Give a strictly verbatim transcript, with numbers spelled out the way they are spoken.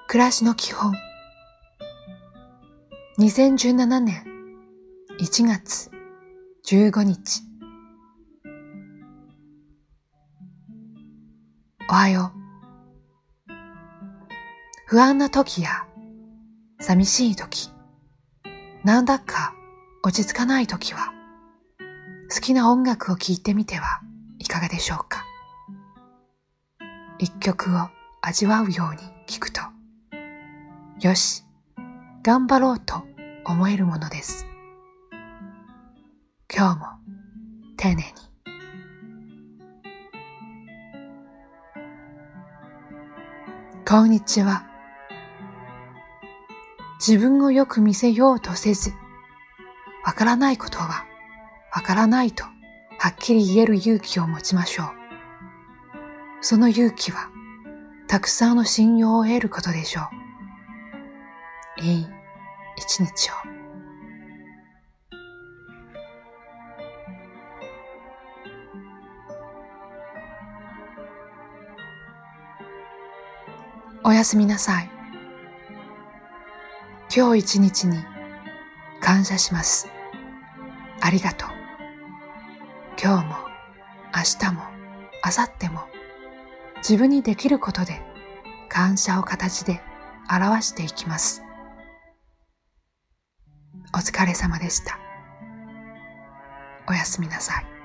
暮らしの基本。にせんじゅうななねんいちがつじゅうごにち。おはよう。不安な時や寂しい時、なんだか落ち着かない時は、好きな音楽を聴いてみてはいかがでしょうか。一曲を味わうように聴くと、よし、頑張ろうと思えるものです。今日も丁寧に。こんにちは。自分をよく見せようとせず、わからないことはわからないとはっきり言える勇気を持ちましょう。その勇気はたくさんの信用を得ることでしょう。いい一日を。おやすみなさい。今日一日に感謝します。ありがとう。今日も明日も明後日も自分にできることで感謝を形で表していきます。お疲れ様でした。おやすみなさい。